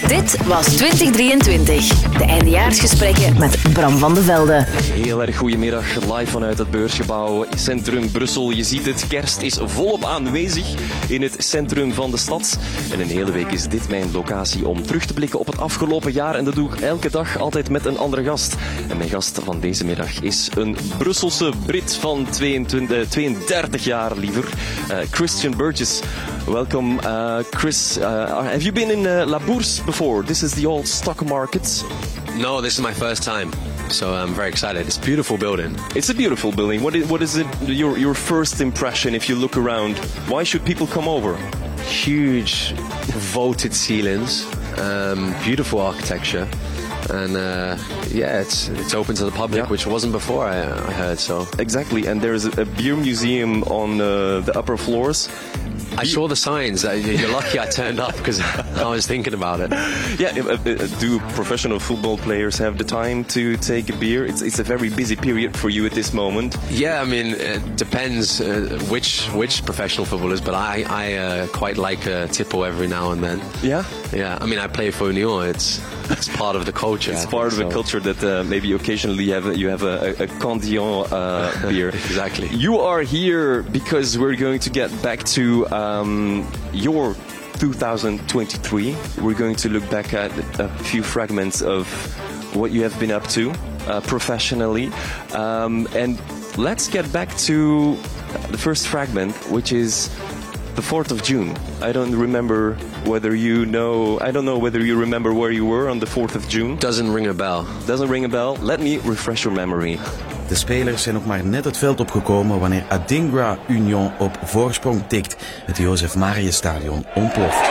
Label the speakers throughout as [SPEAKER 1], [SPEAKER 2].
[SPEAKER 1] Dit was 2023. De eindejaarsgesprekken met Bram van de Velde.
[SPEAKER 2] Heel erg goedemiddag, live vanuit het beursgebouw Centrum Brussel. Je ziet het, kerst is volop aanwezig in het centrum van de stad. En een hele week is dit mijn locatie om terug te blikken op het afgelopen jaar. En dat doe ik elke dag altijd met een andere gast. En mijn gast van deze middag is een Brusselse Brit van 32 jaar liever. Christian Burgess. Welcome, Chris. Have you been in La Bourse before? This is the old stock market.
[SPEAKER 3] No, this is my first time, so I'm very excited. It's a beautiful building.
[SPEAKER 2] It's a beautiful building. What is it? Your first impression if you look around? Why should people come over?
[SPEAKER 3] Huge vaulted ceilings, beautiful architecture, and it's open to the public, which wasn't before. I heard so.
[SPEAKER 2] Exactly, and there's a beer museum on the upper floors.
[SPEAKER 3] I saw the signs. You're lucky I turned up because I was thinking about it.
[SPEAKER 2] Yeah, do professional football players have the time to take a beer? It's a very busy period for you at this moment.
[SPEAKER 3] Yeah, I mean, it depends which professional footballers, but I quite like a tipple every now and then.
[SPEAKER 2] Yeah?
[SPEAKER 3] Yeah, I mean, I play for Union. It's part of the culture.
[SPEAKER 2] It's part of the culture that maybe occasionally you have a Candion beer.
[SPEAKER 3] Exactly.
[SPEAKER 2] You are here because we're going to get back to your 2023. We're going to look back at a few fragments of what you have been up to professionally. And let's get back to the first fragment, which is the 4th of June. I don't know whether you remember where you were on the 4th of June.
[SPEAKER 3] Doesn't ring a bell.
[SPEAKER 2] Doesn't ring a bell? Let me refresh your memory.
[SPEAKER 4] De spelers zijn nog maar net het veld opgekomen wanneer Adingra Union op voorsprong tikt. Het Jozef Marius Stadion ontploft.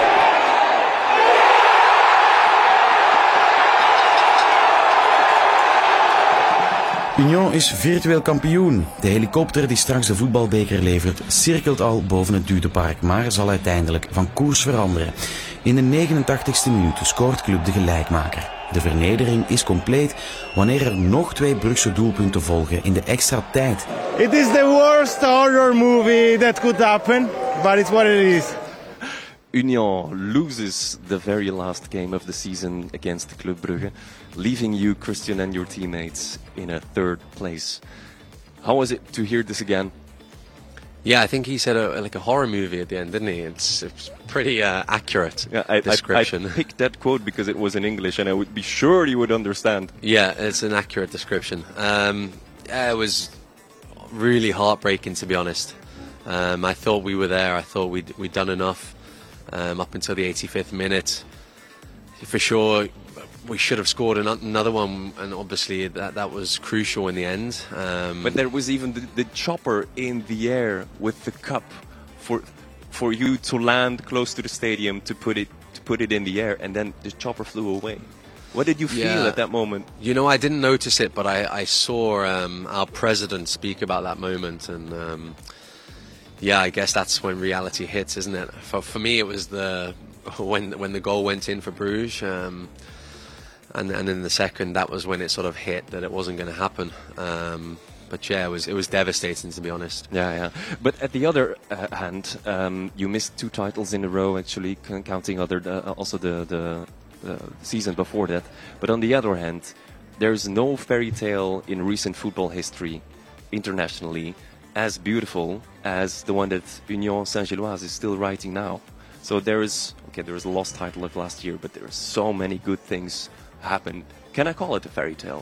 [SPEAKER 4] Union is virtueel kampioen. De helikopter die straks de voetbalbeker levert cirkelt al boven het Dudepark, maar zal uiteindelijk van koers veranderen. In de 89ste minuut scoort club de gelijkmaker. De vernedering is compleet wanneer er nog 2 Brugse doelpunten volgen in de extra tijd.
[SPEAKER 5] It is the worst horror movie that could happen, but it's what it is.
[SPEAKER 2] Union loses the very last game of the season against Club Brugge, leaving you, Christian, and your teammates in a 3rd place. How was it to hear this again?
[SPEAKER 3] Yeah, I think he said like a horror movie at the end, didn't he? It's pretty accurate description.
[SPEAKER 2] I picked that quote because it was in English and I would be sure you would understand.
[SPEAKER 3] Yeah, it's an accurate description. It was really heartbreaking, to be honest. I thought we were there. I thought we'd done enough up until the 85th minute. For sure, we should have scored another one, and obviously that was crucial in the end.
[SPEAKER 2] But there was even the chopper in the air with the cup for you to land close to the stadium to put it in the air, and then the chopper flew away. What did you feel at that moment? You
[SPEAKER 3] know, I didn't notice it, but I saw our president speak about that moment, and I guess that's when reality hits, isn't it? For me, it was when the goal went in for Bruges. And in the second, that was when it sort of hit that it wasn't going to happen. But yeah, it was devastating, to be honest.
[SPEAKER 2] Yeah. But at the other hand, you missed 2 titles in a row, actually, counting also the season before that. But on the other hand, there's no fairy tale in recent football history, internationally, as beautiful as the one that Union Saint-Gilloise is still writing now. So there is a lost title of last year, but there are so many good things happen. Can I call it a fairy tale?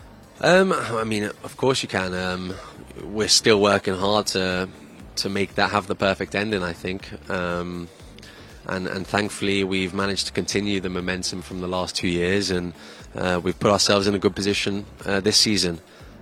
[SPEAKER 3] I mean, of course you can. We're still working hard to make that have the perfect ending, I think. And thankfully we've managed to continue the momentum from the last 2 years, and we've put ourselves in a good position this season.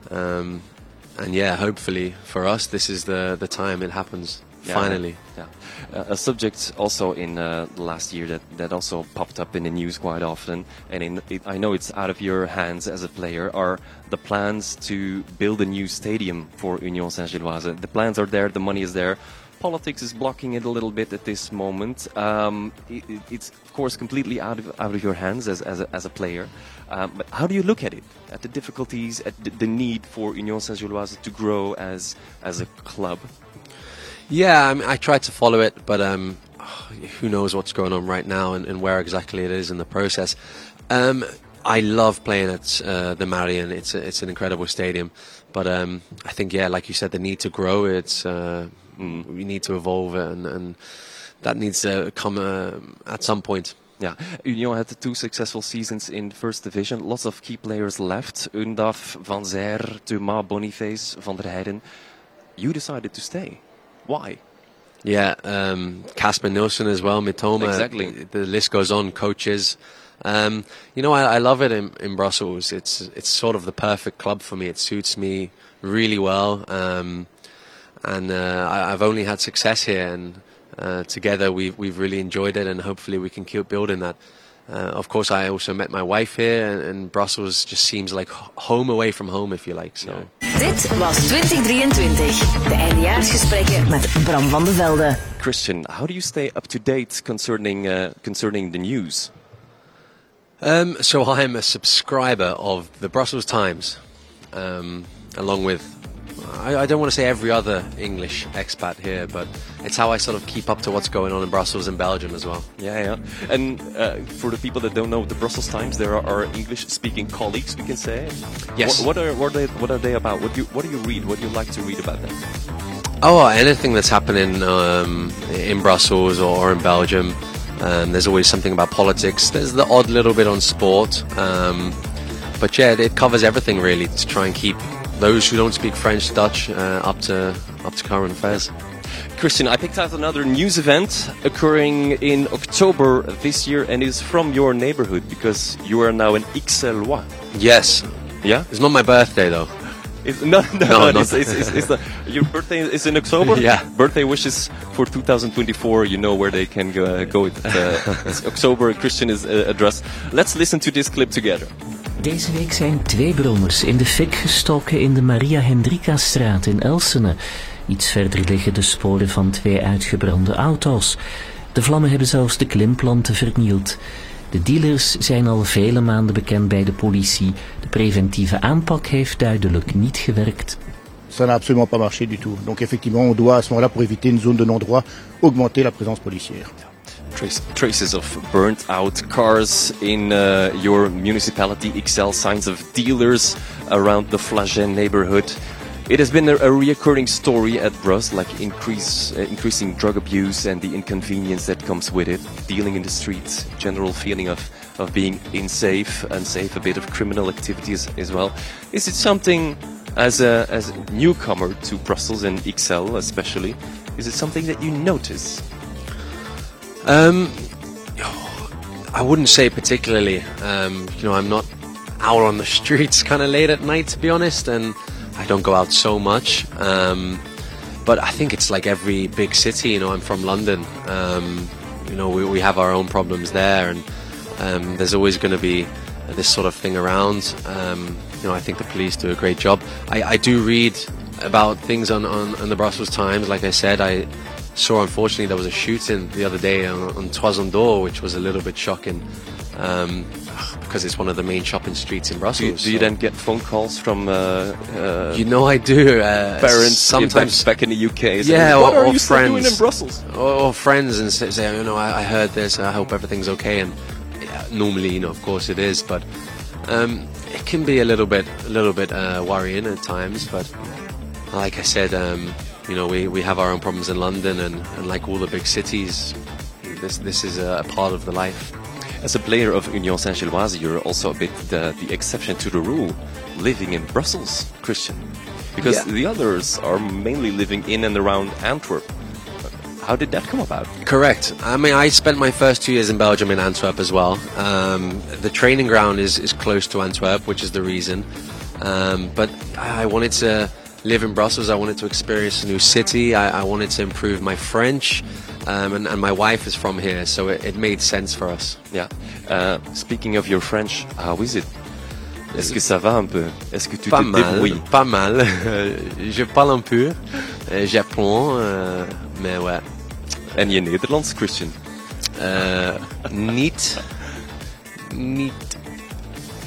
[SPEAKER 3] And yeah, hopefully for us, this is the time it happens. Finally.
[SPEAKER 2] Yeah. A subject also in the last year that also popped up in the news quite often, and I know it's out of your hands as a player, are the plans to build a new stadium for Union Saint-Gilloise. The plans are there, the money is there. Politics is blocking it a little bit at this moment. It's of course completely out of your hands as a player. But how do you look at it? At the difficulties, at the need for Union Saint-Gilloise to grow as a club?
[SPEAKER 3] Yeah, I tried to follow it, but who knows what's going on right now and where exactly it is in the process. I love playing at the Marion. It's an incredible stadium, but I think like you said, the need to grow. We need to evolve, and that needs to come at some point.
[SPEAKER 2] Yeah, Union had 2 successful seasons in First Division. Lots of key players left. Undaf, Van Zijr, Thomas, Boniface, Van der Heijden. You decided to stay. Why?
[SPEAKER 3] Yeah, Casper Nilsson as well, Mitoma.
[SPEAKER 2] Exactly.
[SPEAKER 3] The list goes on, coaches. I love it in Brussels. It's sort of the perfect club for me. It suits me really well. I've only had success here, and together we've really enjoyed it, and hopefully we can keep building that. Of course, I also met my wife here, and Brussels just seems like home away from home, if you like. So.
[SPEAKER 1] Dit was 2023. De eindejaarsgesprekken met Bram van de Velde.
[SPEAKER 2] Christian, how do you stay up to date concerning the news?
[SPEAKER 3] So I'm a subscriber of the Brussels Times, along with, I don't want to say every other English expat here, but it's how I sort of keep up to what's going on in Brussels and Belgium as well.
[SPEAKER 2] Yeah. And for the people that don't know the Brussels Times, there are our English-speaking colleagues, we can say.
[SPEAKER 3] Yes.
[SPEAKER 2] What are they about? What do you read? What do you like to read about them?
[SPEAKER 3] Oh, anything that's happening in Brussels or in Belgium. There's always something about politics. There's the odd little bit on sport. But yeah, it covers everything really to try and keep those who don't speak French, Dutch, up to current affairs.
[SPEAKER 2] Christian, I picked out another news event occurring in October this year, and is from your neighborhood because you are now an Ixellois.
[SPEAKER 3] Yes.
[SPEAKER 2] Yeah?
[SPEAKER 3] It's not my birthday though.
[SPEAKER 2] No, your birthday is in October?
[SPEAKER 3] Yeah.
[SPEAKER 2] Birthday wishes for 2024, you know where they can go. It's October, Christian is address. Let's listen to this clip together.
[SPEAKER 6] Deze week zijn 2 brommers in de fik gestoken in de Maria Hendrikastraat in Elsene. Iets verder liggen de sporen van 2 uitgebrande auto's. De vlammen hebben zelfs de klimplanten vernield. De dealers zijn al vele maanden bekend bij de politie. De preventieve aanpak heeft duidelijk niet gewerkt.
[SPEAKER 7] Ça n'a absolument pas marché du tout. Donc effectivement, on doit à ce moment-là, pour éviter une zone de non-droit, augmenter la présence policière.
[SPEAKER 2] Traces of burnt out cars in your municipality, Ixelles, signs of dealers around the Flagey neighborhood. It has been a reoccurring story at Bruss, like increasing drug abuse and the inconvenience that comes with it, dealing in the streets, general feeling of being unsafe, a bit of criminal activities as well. Is it something, as a newcomer to Brussels and Ixelles especially, is it something that you notice?
[SPEAKER 3] I wouldn't say particularly. I'm not out on the streets kind of late at night, to be honest, and I don't go out so much. But I think it's like every big city. I'm from London. We have our own problems there, and there's always going to be this sort of thing around. I think the police do a great job. I do read about things on the Brussels Times. Like I said, I saw, unfortunately, there was a shooting the other day on Toison d'Or, which was a little bit shocking, because it's one of the main shopping streets in Brussels.
[SPEAKER 2] Do you then get phone calls from
[SPEAKER 3] I do.
[SPEAKER 2] Parents
[SPEAKER 3] sometimes
[SPEAKER 2] back in the UK?
[SPEAKER 3] Yeah,
[SPEAKER 2] what are
[SPEAKER 3] or
[SPEAKER 2] you
[SPEAKER 3] friends
[SPEAKER 2] doing in Brussels?
[SPEAKER 3] Or friends, and say, I heard this. I hope everything's okay. And normally, of course it is, but it can be a little bit worrying at times. But like I said, we have our own problems in London, and like all the big cities, this is a part of the life.
[SPEAKER 2] As a player of Union Saint-Gilloise, you're also a bit the exception to the rule, living in Brussels, Christian. Because the others are mainly living in and around Antwerp. How did that come about?
[SPEAKER 3] Correct. I spent my first 2 years in Belgium in Antwerp as well. The training ground is close to Antwerp, which is the reason. But I wanted to live in Brussels. I wanted to experience a new city. I wanted to improve my French. And my wife is from here, so it made sense for us.
[SPEAKER 2] Yeah. Speaking of your French, how is it? Est-ce que ça va un peu? Est-ce que tu te débrouilles?
[SPEAKER 3] Pas mal. Je parle un peu. J'apprends, mais ouais.
[SPEAKER 2] En je Nederlands, Christian?
[SPEAKER 3] Niet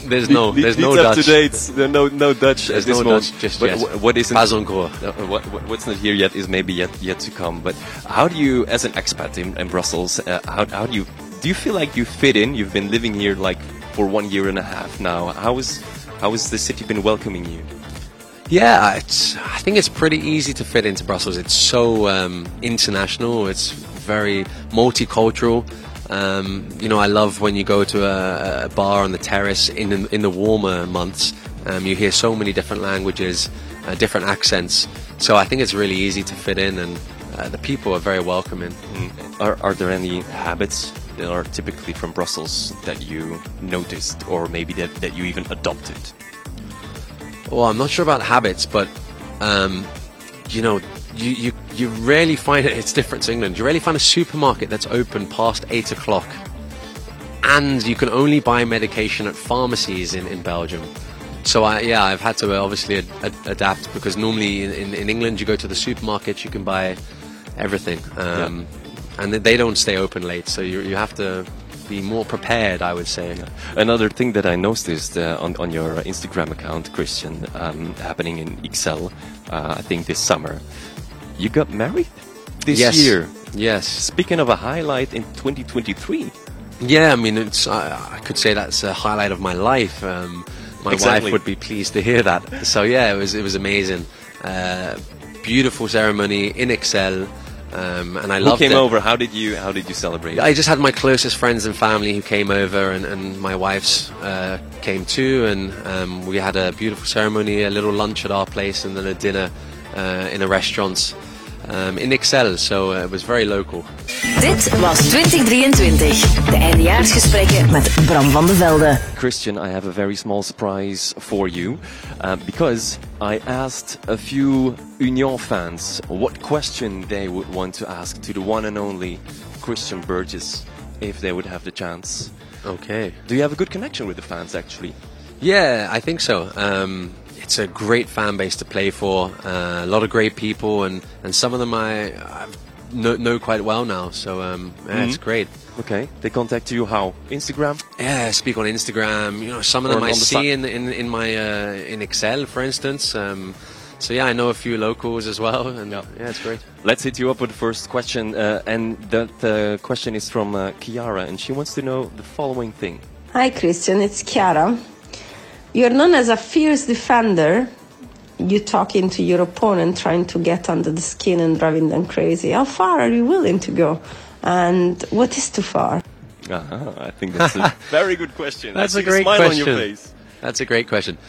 [SPEAKER 3] There's no
[SPEAKER 2] It's
[SPEAKER 3] Dutch.
[SPEAKER 2] up to date. There's no Dutch
[SPEAKER 3] There's
[SPEAKER 2] at this
[SPEAKER 3] no
[SPEAKER 2] moment.
[SPEAKER 3] Dutch just
[SPEAKER 2] But
[SPEAKER 3] yet.
[SPEAKER 2] what isn't
[SPEAKER 3] Pas encore.
[SPEAKER 2] what's not here yet is maybe yet to come. But how do you, as an expat in Brussels, how do you feel like you fit in? You've been living here like for 1 year and a half now. How has the city been welcoming you?
[SPEAKER 3] Yeah, I think it's pretty easy to fit into Brussels. It's so international. It's very multicultural. I love when you go to a bar on the terrace in the warmer months. You hear so many different languages, different accents. So I think it's really easy to fit in, and the people are very welcoming.
[SPEAKER 2] Are there any habits that are typically from Brussels that you noticed, or maybe that you even adopted?
[SPEAKER 3] Well, I'm not sure about habits, but you rarely find it. It's different to England. You rarely find a supermarket that's open past 8 o'clock, and you can only buy medication at pharmacies in Belgium. So I've had to obviously adapt, because normally in England you go to the supermarket, you can buy everything, and they don't stay open late. So you have to be more prepared, I would say.
[SPEAKER 2] Another thing that I noticed on your Instagram account, Christian, happening in Ixelles, I think this summer, you got married this year.
[SPEAKER 3] Yes.
[SPEAKER 2] Speaking of a highlight in 2023.
[SPEAKER 3] Yeah, I mean, I could say that's a highlight of my life. My wife would be pleased to hear that. So yeah, it was amazing. Beautiful ceremony in Ixelles. And I loved it.
[SPEAKER 2] Who came over? How did you celebrate?
[SPEAKER 3] I just had my closest friends and family who came over, and my wife's came too, and we had a beautiful ceremony, a little lunch at our place, and then a dinner in a restaurant in Ixelles. So it was very local.
[SPEAKER 1] Dit was 2023. De eindejaarsgesprekken met Bram van de Velde.
[SPEAKER 2] Christian, I have a very small surprise for you, because I asked a few Union fans what question they would want to ask to the one and only Christian Burgess if they would have the chance.
[SPEAKER 3] Okay.
[SPEAKER 2] Do you have a good connection with the fans, actually?
[SPEAKER 3] Yeah, I think so. It's a great fan base to play for. A lot of great people, and some of them I know quite well now. So it's great.
[SPEAKER 2] Okay. They contact you how? Instagram?
[SPEAKER 3] Yeah, I speak on Instagram. Some of them I see in my in Ixelles, for instance. So yeah, I know a few locals as well, and yeah, it's great.
[SPEAKER 2] Let's hit you up with the first question, and that question is from Chiara, and she wants to know the following thing.
[SPEAKER 8] Hi Christian, it's Chiara. You're known as a fierce defender. You talk into your opponent, trying to get under the skin and driving them crazy. How far are you willing to go? And what is too far?
[SPEAKER 2] I think that's a very good question.
[SPEAKER 3] That's
[SPEAKER 2] a
[SPEAKER 3] great
[SPEAKER 2] smile
[SPEAKER 3] question.
[SPEAKER 2] on your face.
[SPEAKER 3] That's a great question.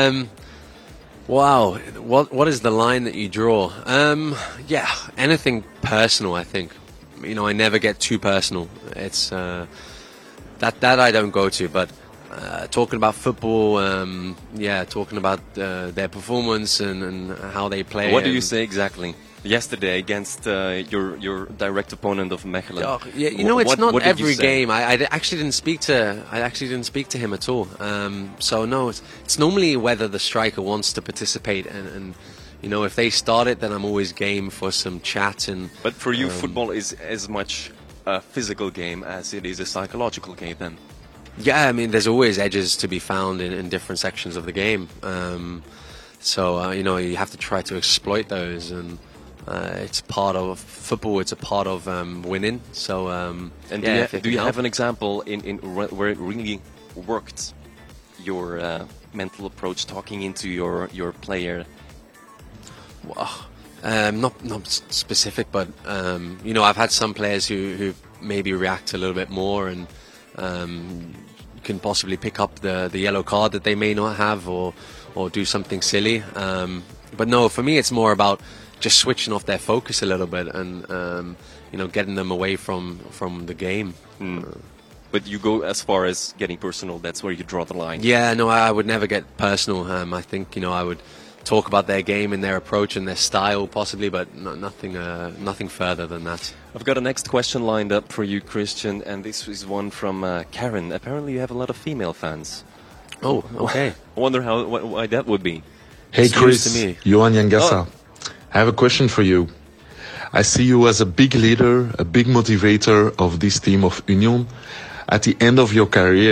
[SPEAKER 3] Wow, what is the line that you draw? Yeah, anything personal, I think. I never get too personal. It's that I don't go to, but talking about football, talking about their performance and how they play.
[SPEAKER 2] What do you say exactly? Yesterday against your direct opponent of Mechelen.
[SPEAKER 3] Oh, yeah, it's not every game. I actually didn't speak to him at all. So no, it's normally whether the striker wants to participate, and if they start it, then I'm always game for some chat.
[SPEAKER 2] But for you, football is as much a physical game as it is a psychological game, then.
[SPEAKER 3] Yeah, I mean, there's always edges to be found in different sections of the game. So you have to try to exploit those, and it's part of football. It's a part of winning. So,
[SPEAKER 2] do you have an example in where it really worked your mental approach, talking into your player?
[SPEAKER 3] Well, not specific, but I've had some players who maybe react a little bit more and can possibly pick up the yellow card that they may not have, or do something silly. But no, for me, it's more about just switching off their focus a little bit and getting them away from the game.
[SPEAKER 2] But you go as far as getting personal. That's where you draw the line.
[SPEAKER 3] Yeah, no, I would never get personal. I think I would talk about their game and their approach and their style possibly, but nothing further than that.
[SPEAKER 2] I've got a next question lined up for you, Christian, and this is one from Karen. Apparently you have a lot of female fans.
[SPEAKER 3] Oh, okay.
[SPEAKER 2] I wonder why that would be.
[SPEAKER 9] Hey
[SPEAKER 3] it's
[SPEAKER 9] Chris,
[SPEAKER 3] to me.
[SPEAKER 9] Johan Jangassa. I have a question for you. I see you as a big leader, a big motivator of this team of Union. At the end of your career,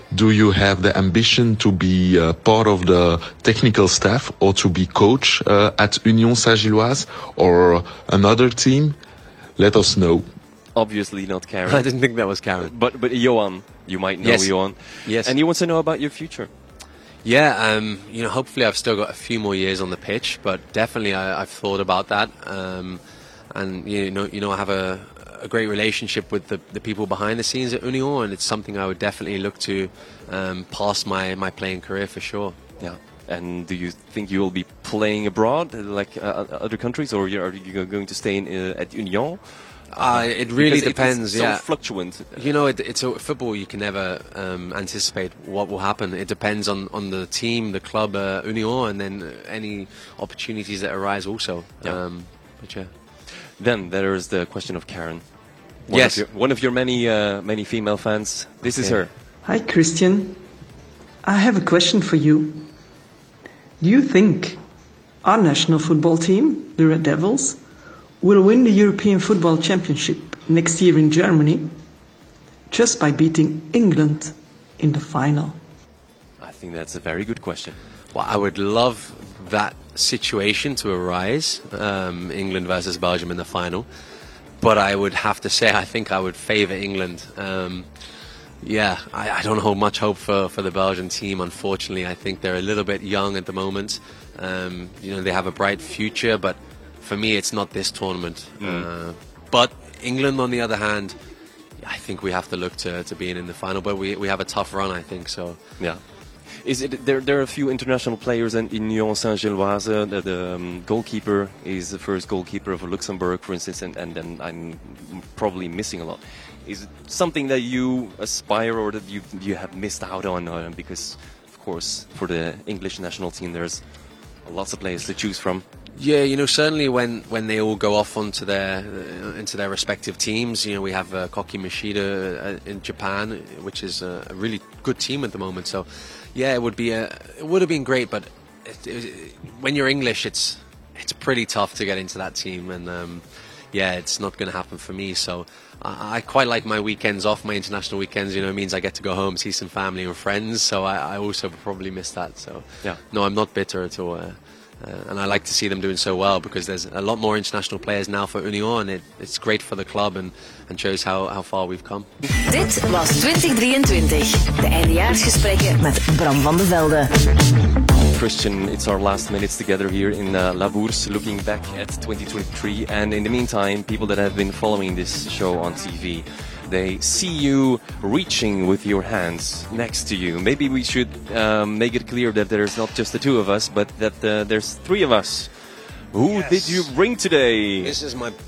[SPEAKER 9] do you have the ambition to be part of the technical staff or to be coach at Union Saint-Gilloise or another team? Let us know.
[SPEAKER 2] Obviously not Karen.
[SPEAKER 3] I didn't think that was Karen.
[SPEAKER 2] But Johan, you might know Johan.
[SPEAKER 3] Yes.
[SPEAKER 2] And he wants to know about your future.
[SPEAKER 3] Yeah, hopefully I've still got a few more years on the pitch, but definitely I've thought about that. And I have a great relationship with the people behind the scenes at Union, and it's something I would definitely look to past my playing career for sure.
[SPEAKER 2] Yeah. And do you think you will be playing abroad, like other countries, or are you going to stay at Union?
[SPEAKER 3] It really depends.
[SPEAKER 2] It's so fluctuant.
[SPEAKER 3] It's football. You can never anticipate what will happen. It depends on the team, the club, Union, and then any opportunities that arise also.
[SPEAKER 2] Yeah.
[SPEAKER 3] But yeah.
[SPEAKER 2] Then there is the question of Karen. One of your many female fans. This is her.
[SPEAKER 10] Hi, Christian. I have a question for you. Do you think our national football team, the Red Devils, will win the European Football Championship next year in Germany just by beating England in the final?
[SPEAKER 2] I think that's a very good question.
[SPEAKER 3] Well, I would love that situation to arise, England versus Belgium in the final. But I would have to say I think I would favour England. I don't hold much hope for the Belgian team, unfortunately. I think they're a little bit young at the moment. They have a bright future, but for me, it's not this tournament. But England, on the other hand, I think we have to look to being in the final. But we have a tough run, I think. So
[SPEAKER 2] yeah. Is it there are a few international players in Union Saint-Gilloise. The goalkeeper is the first goalkeeper of Luxembourg, for instance, and then I'm probably missing a lot. Is it something that you aspire or that you have missed out on? Because, of course, for the English national team, there's lots of players to choose from.
[SPEAKER 3] Yeah, certainly when they all go off into their respective teams, we have Koki Mashida in Japan, which is a really good team at the moment. So, yeah, it would have been great, but when you're English, it's pretty tough to get into that team, and it's not going to happen for me. So I quite like my weekends off, my international weekends. It means I get to go home, see some family and friends. So I also probably miss that. So no, I'm not bitter at all. And I like to see them doing so well because there's a lot more international players now for Union. It's great for the club and shows how far we've come.
[SPEAKER 1] Dit was 2023. De eindejaarsgesprekken met Bram van de Velde.
[SPEAKER 2] Christian, it's our last minutes together here in La Bourse, looking back at 2023. And in the meantime, people that have been following this show on TV, they see you reaching with your hands next to you. Maybe we should make it clear that there's not just the two of us, but that there's three of us. Who did you bring today?
[SPEAKER 3] This is my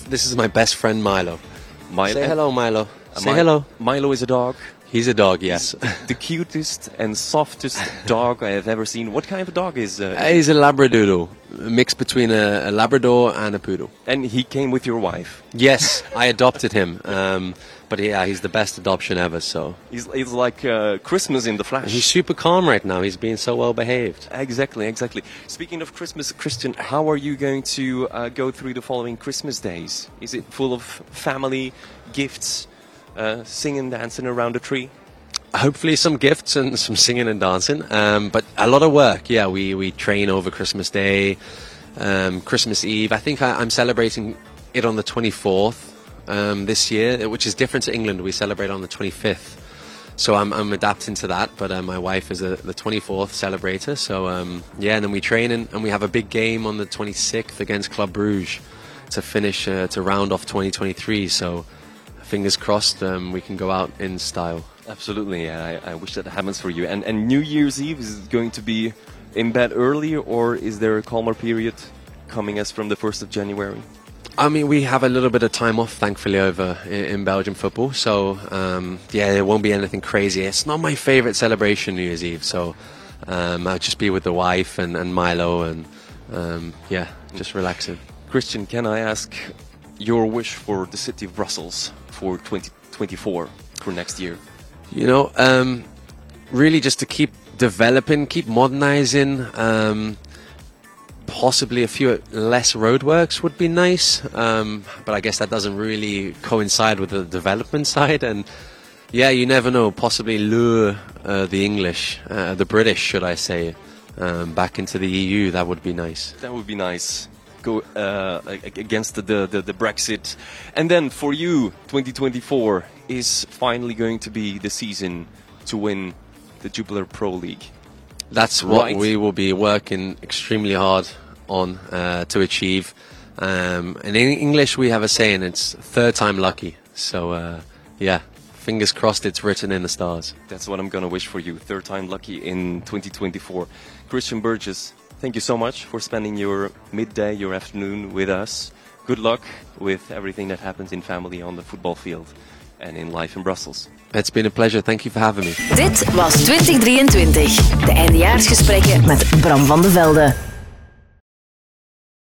[SPEAKER 3] best friend Milo. Say hello, Milo. Say hello.
[SPEAKER 2] Milo is a dog.
[SPEAKER 3] He's a dog, yes.
[SPEAKER 2] The cutest and softest dog I have ever seen. What kind of a dog is?
[SPEAKER 3] He's a Labradoodle, a mix between a Labrador and a Poodle.
[SPEAKER 2] And he came with your wife?
[SPEAKER 3] Yes, I adopted him. But yeah, he's the best adoption ever. So
[SPEAKER 2] he's like Christmas in the flesh.
[SPEAKER 3] He's super calm right now. He's being so well behaved.
[SPEAKER 2] Exactly. Speaking of Christmas, Christian, how are you going to go through the following Christmas days? Is it full of family, gifts, singing, dancing around the tree?
[SPEAKER 3] Hopefully some gifts and some singing and dancing, but a lot of work. Yeah, we train over Christmas Day, Christmas Eve. I think I'm celebrating it on the 24th this year, which is different to England. We celebrate on the 25th, so I'm adapting to that. But my wife is the 24th celebrator, so and then we train and we have a big game on the 26th against Club Brugge to finish to round off 2023. So fingers crossed we can go out in style.
[SPEAKER 2] Absolutely, I wish that happens for you. And New Year's Eve, is it going to be in bed early, or is there a calmer period coming as from the 1st of January?
[SPEAKER 3] I mean, we have a little bit of time off, thankfully, over in Belgian football. So, there won't be anything crazy. It's not my favourite celebration, New Year's Eve. So, I'll just be with the wife and Milo and, just relaxing.
[SPEAKER 2] Christian, can I ask your wish for the city of Brussels for 2024, for next year?
[SPEAKER 3] Really just to keep developing, keep modernizing. Possibly a few less roadworks would be nice, but I guess that doesn't really coincide with the development side. And yeah, you never know. Possibly lure the English, the British, should I say, back into the EU. That would be nice.
[SPEAKER 2] That would be nice. Go against the Brexit. And then for you, 2024 is finally going to be the season to win the Jupiler Pro League.
[SPEAKER 3] That's what we will be working extremely hard on to achieve. And in English we have a saying, it's third time lucky. So yeah, fingers crossed it's written in the stars.
[SPEAKER 2] That's what I'm going to wish for you. Third time lucky in 2024. Christian Burgess, thank you so much for spending your midday, your afternoon with us. Good luck with everything that happens in family on the football field and in life in Brussels.
[SPEAKER 3] It's been a pleasure. Thank you for having me.
[SPEAKER 1] Dit was 2023. De eindejaarsgesprekken met Bram van de Velde.